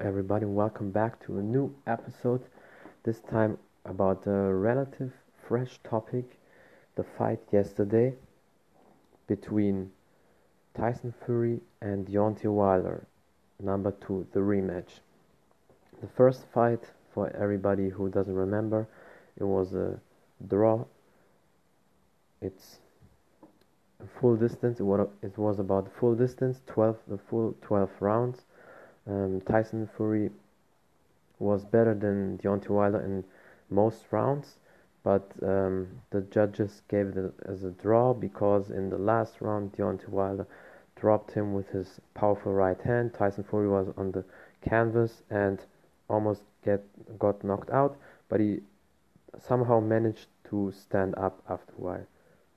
everybody, welcome back to a new episode. This time about a relative fresh topic, the fight yesterday between Tyson Fury and Deontay Wilder, number 2, the rematch. The first fight, for everybody who doesn't remember, it was a draw. It's a full distance. It was about full distance, the full 12 rounds. Tyson Fury was better than Deontay Wilder in most rounds, but the judges gave it as a draw because in the last round Deontay Wilder dropped him with his powerful right hand. Tyson Fury was on the canvas and almost got knocked out, but he somehow managed to stand up after a while.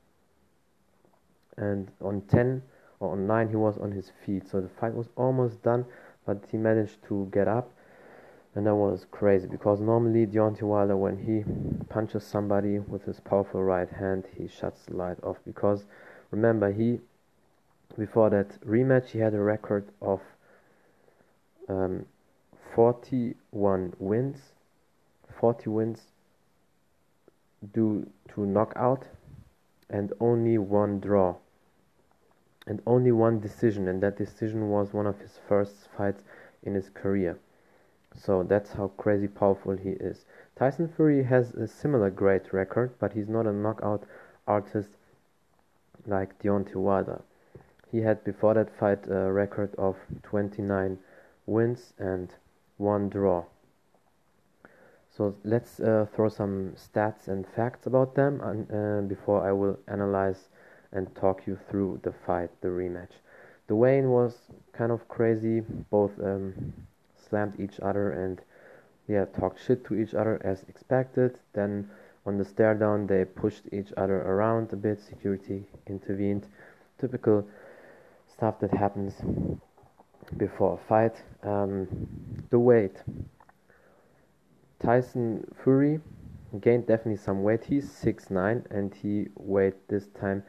And on 10 or on 9 he was on his feet, so the fight was almost done, but he managed to get up. And that was crazy because normally Deontay Wilder, when he punches somebody with his powerful right hand, he shuts the light off. Because remember, before that rematch, he had a record of 41 wins, 40 wins due to knockout, and only one draw, and only one decision, and that decision was one of his first fights in his career. So that's how crazy powerful he is. Tyson Fury has a similar great record, but he's not a knockout artist like Deontay Wilder. He had before that fight a record of 29 wins and 1 draw. So let's throw some stats and facts about them before I will analyze and talk you through the fight, the rematch. The weigh-in was kind of crazy. Both slammed each other and talked shit to each other as expected. Then on the stare down they pushed each other around a bit, security intervened. Typical stuff that happens before a fight. The weight. Tyson Fury gained definitely some weight. He's 6'9" and he weighed this time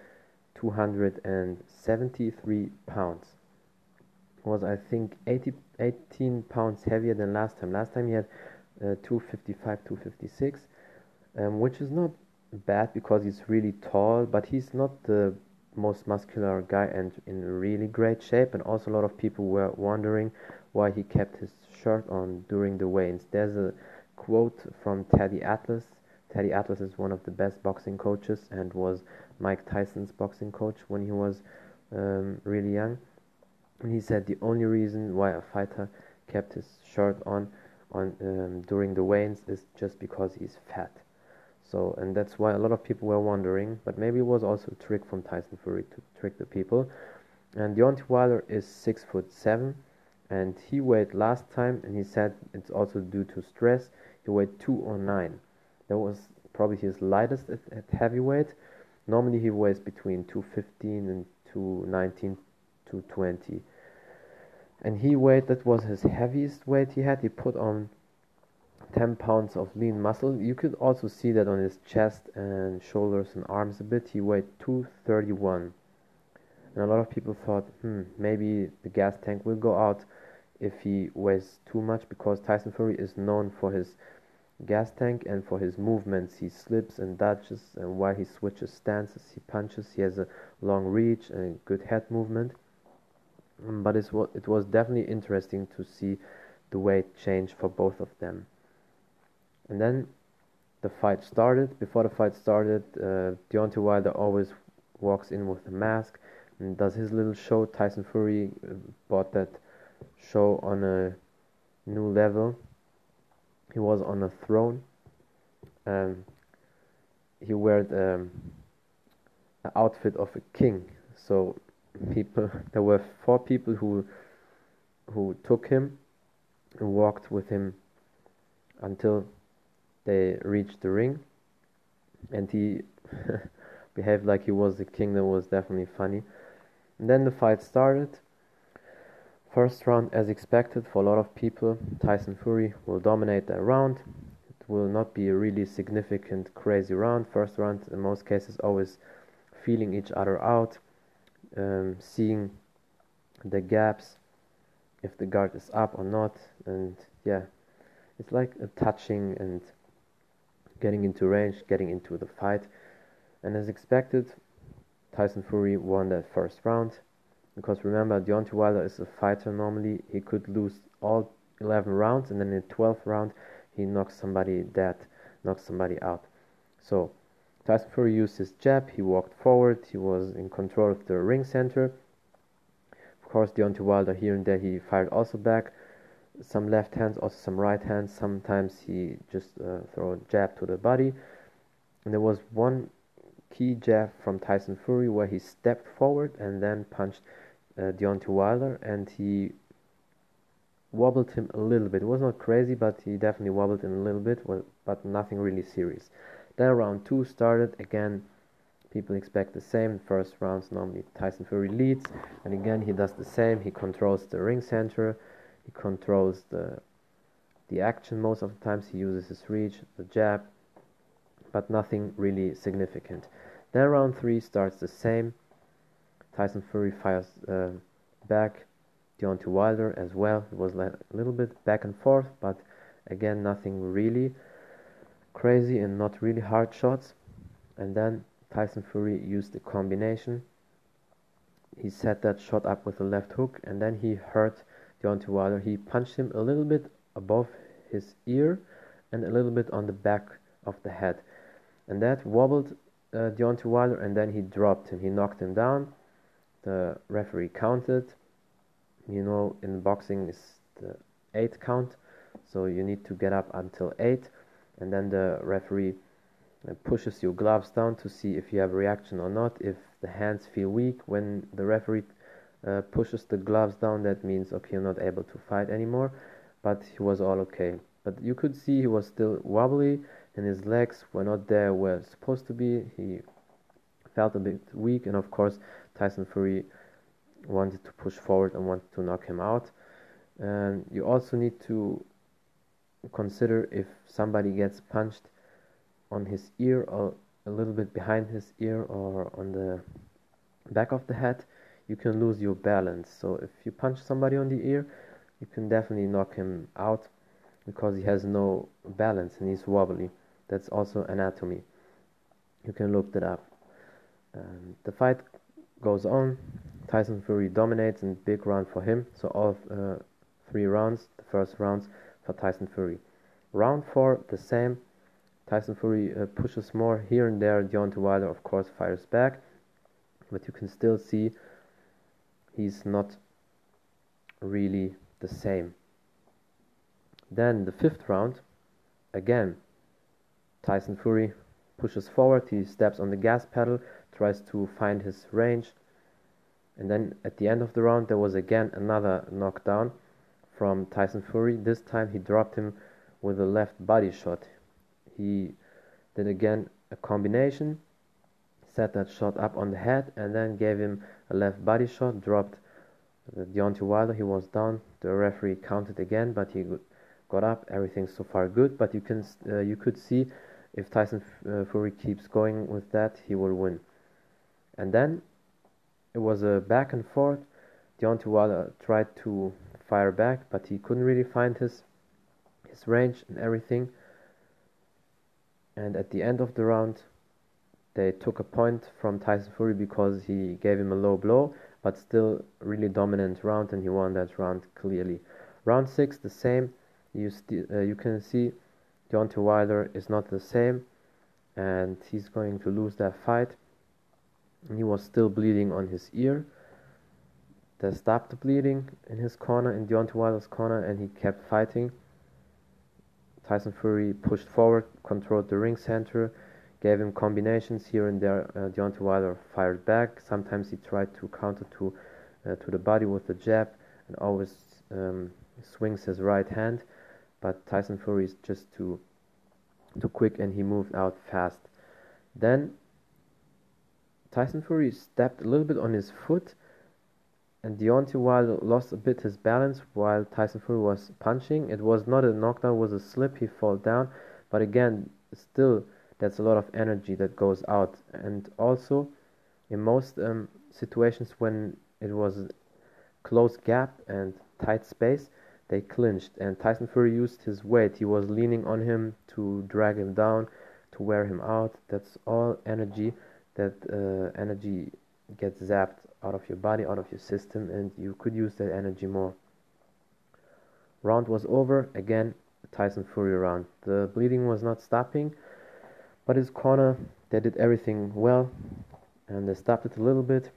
273 pounds. Was I think 18 pounds heavier than last time. Last time he had 255, 256, which is not bad because he's really tall, but he's not the most muscular guy and in really great shape. And also a lot of people were wondering why he kept his shirt on during the weigh-ins. There's a quote from Teddy Atlas. Teddy Atlas is one of the best boxing coaches and was Mike Tyson's boxing coach when he was really young. And he said the only reason why a fighter kept his shirt on during the weigh-ins is just because he's fat. So, and that's why a lot of people were wondering, but maybe it was also a trick from Tyson Fury to trick the people. And Deontay Wilder is 6'7", and he weighed last time, and he said it's also due to stress. He weighed 209. That was probably his lightest at heavyweight. Normally he weighs between 215 and 219, 220. And that was his heaviest weight he had. He put on 10 pounds of lean muscle. You could also see that on his chest and shoulders and arms a bit. He weighed 231. And a lot of people thought, maybe the gas tank will go out if he weighs too much, because Tyson Fury is known for his gas tank and for his movements. He slips and dodges, and while he switches stances, he punches. He has a long reach and a good head movement. But it was definitely interesting to see the weight change for both of them. And then the fight started. Before the fight started, Deontay Wilder always walks in with a mask and does his little show. Tyson Fury brought that show on a new level. He was on a throne. He wore an outfit of a king. So there were 4 people who took him and walked with him until they reached the ring, and he behaved like he was the king. That was definitely funny. And then the fight started. First round, as expected for a lot of people, Tyson Fury will dominate that round. It will not be a really significant, crazy round. First round, in most cases, always feeling each other out, seeing the gaps, if the guard is up or not. And yeah, it's like a touching and getting into range, getting into the fight. And as expected, Tyson Fury won that first round. Because remember, Deontay Wilder is a fighter normally. He could lose all 11 rounds, and then in the 12th round, he knocks somebody dead, knocks somebody out. So Tyson Fury used his jab. He walked forward. He was in control of the ring center. Of course, Deontay Wilder here and there he fired also back. Some left hands, also some right hands. Sometimes he just throw a jab to the body. And there was one key jab from Tyson Fury where he stepped forward and then punched Deontay Wilder, and he wobbled him a little bit. It was not crazy, but he definitely wobbled him a little bit, but nothing really serious. Then round 2 started. Again, people expect the same. First rounds normally Tyson Fury leads, and again he does the same. He controls the ring center, he controls the action most of the times. He uses his reach, the jab, but nothing really significant. Then round 3 starts the same. Tyson Fury fires back. Deontay Wilder as well. It was like a little bit back and forth, but again nothing really crazy and not really hard shots. And then Tyson Fury used a combination. He set that shot up with a left hook, and then he hurt Deontay Wilder. He punched him a little bit above his ear and a little bit on the back of the head, and that wobbled Deontay Wilder, and then he dropped him. He knocked him down. The referee counted. You know, in boxing is the 8 count, so you need to get up until 8, and then the referee pushes your gloves down to see if you have a reaction or not. If the hands feel weak when the referee pushes the gloves down, that means okay, you're not able to fight anymore. But he was all okay. But you could see he was still wobbly, and his legs were not there where supposed to be. He felt a bit weak, and of course Tyson Fury wanted to push forward and wanted to knock him out. And you also need to consider if somebody gets punched on his ear or a little bit behind his ear or on the back of the head, you can lose your balance. So if you punch somebody on the ear, you can definitely knock him out because he has no balance and he's wobbly. That's also anatomy. You can look that up. The fight goes on. Tyson Fury dominates in big round for him. So all 3 rounds, the first rounds for Tyson Fury. Round 4, the same. Tyson Fury pushes more here and there. Deontay Wilder, of course, fires back, but you can still see he's not really the same. Then the 5th round, again, Tyson Fury pushes forward. He steps on the gas pedal, tries to find his range, and then at the end of the round there was again another knockdown from Tyson Fury. This time he dropped him with a left body shot. He did again a combination, set that shot up on the head, and then gave him a left body shot, dropped Deontay Wilder. He was down. The referee counted again, but he got up. Everything so far good, but you could see if Tyson Fury keeps going with that, he will win. And then it was a back and forth. Deontay Wilder tried to fire back, but he couldn't really find his range and everything. And at the end of the round, they took a point from Tyson Fury because he gave him a low blow, but still really dominant round, and he won that round clearly. Round 6, the same. You can see Deontay Wilder is not the same, and he's going to lose that fight. And he was still bleeding on his ear. They stopped the bleeding in his corner, in Deontay Wilder's corner, and he kept fighting. Tyson Fury pushed forward, controlled the ring center, gave him combinations here and there. Deontay Wilder fired back. Sometimes he tried to counter to the body with the jab, and always swings his right hand. But Tyson Fury is just too quick, and he moved out fast. Then Tyson Fury stepped a little bit on his foot, and Deontay Wilder lost a bit his balance while Tyson Fury was punching. It was not a knockdown, it was a slip. He fell down, but again, still, that's a lot of energy that goes out. And also, in most situations when it was close gap and tight space, they clinched, and Tyson Fury used his weight. He was leaning on him to drag him down, to wear him out. That's all energy. That energy gets zapped out of your body, out of your system, and you could use that energy more. Round was over. Again, Tyson Fury round. The bleeding was not stopping, but his corner, they did everything well, and they stopped it a little bit.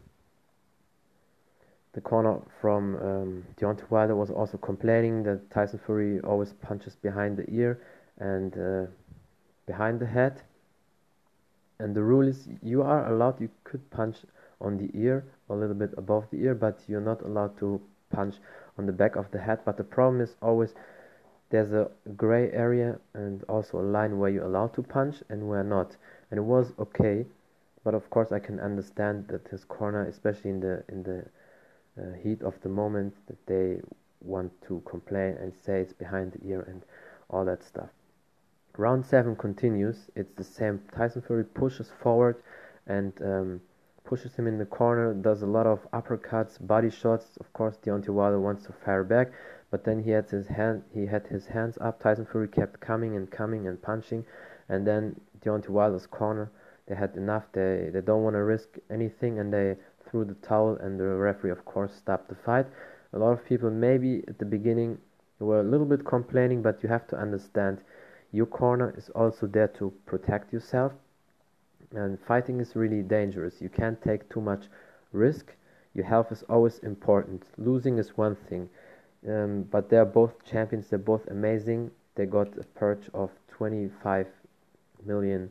The corner from Deontay Wilder was also complaining that Tyson Fury always punches behind the ear and behind the head. And the rule is you are allowed, you could punch on the ear, a little bit above the ear, but you're not allowed to punch on the back of the head. But the problem is always there's a gray area and also a line where you're allowed to punch and where not. And it was okay, but of course I can understand that his corner, especially in the heat of the moment, that they want to complain and say it's behind the ear and all that stuff. Round 7 continues. It's the same. Tyson Fury pushes forward and pushes him in the corner, does a lot of uppercuts, body shots. Of course, Deontay Wilder wants to fire back, but then he had his hands up. Tyson Fury kept coming and punching, and then Deontay Wilder's corner, they had enough. They don't want to risk anything, and they threw the towel, and the referee, of course, stopped the fight. A lot of people maybe at the beginning were a little bit complaining, but you have to understand your corner is also there to protect yourself, and fighting is really dangerous. You can't take too much risk. Your health is always important. Losing is one thing, but they're both champions. They're both amazing. They got a purge of $25 million,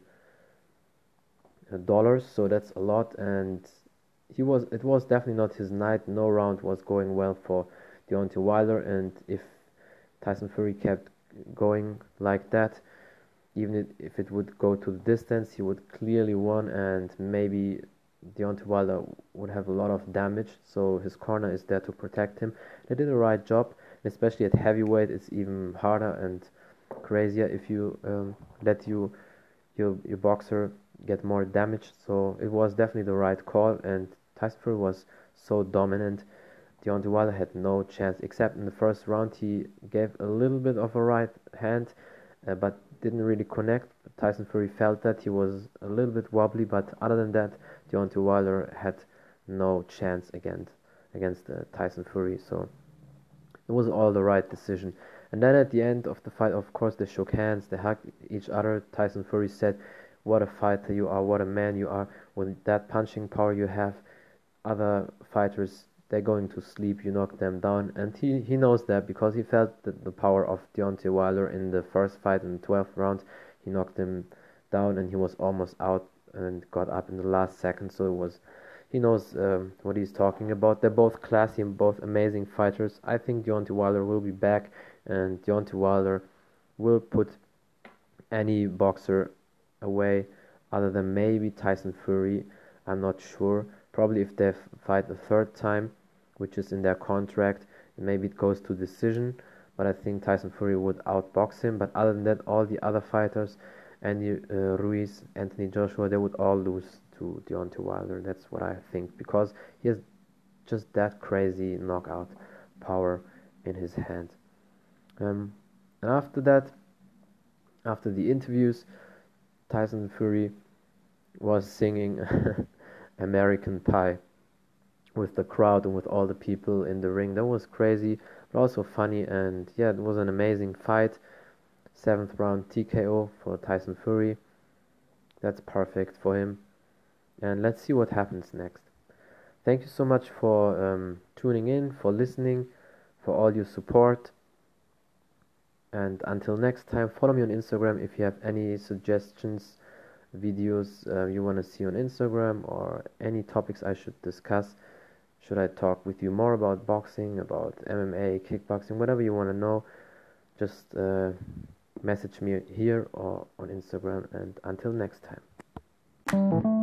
so that's a lot. And it was definitely not his night. No round was going well for Deontay Wilder, and if Tyson Fury kept going like that, even if it would go to the distance, he would clearly won, and maybe Deontay Wilder would have a lot of damage. So his corner is there to protect him. They did a right job, especially at heavyweight. It's even harder and crazier if you let your boxer get more damage. So it was definitely the right call, and Tyson Fury was so dominant. Deontay Wilder had no chance, except in the first round he gave a little bit of a right hand, but didn't really connect. Tyson Fury felt that he was a little bit wobbly, but other than that, Deontay Wilder had no chance against Tyson Fury. So it was all the right decision. And then at the end of the fight, of course, they shook hands, they hugged each other. Tyson Fury said, "What a fighter you are! What a man you are! With that punching power you have, other fighters, they're going to sleep, you knock them down." And he knows that because he felt the power of Deontay Wilder in the first fight in the 12th round. He knocked him down and he was almost out and got up in the last second. So he knows what he's talking about. They're both classy and both amazing fighters. I think Deontay Wilder will be back, and Deontay Wilder will put any boxer away other than maybe Tyson Fury. I'm not sure. Probably if they fight a third time, which is in their contract, maybe it goes to decision, but I think Tyson Fury would outbox him. But other than that, all the other fighters, Andy Ruiz, Anthony Joshua, they would all lose to Deontay Wilder. That's what I think, because he has just that crazy knockout power in his hand. And after that, after the interviews, Tyson Fury was singing American Pie with the crowd and with all the people in the ring. That was crazy, but also funny, and yeah, it was an amazing fight. 7th round TKO for Tyson Fury. That's perfect for him. And let's see what happens next. Thank you so much for tuning in, for listening, for all your support. And until next time, follow me on Instagram if you have any suggestions, videos you want to see on Instagram, or any topics I should discuss. Should I talk with you more about boxing, about MMA, kickboxing, whatever you want to know, just message me here or on Instagram. And until next time.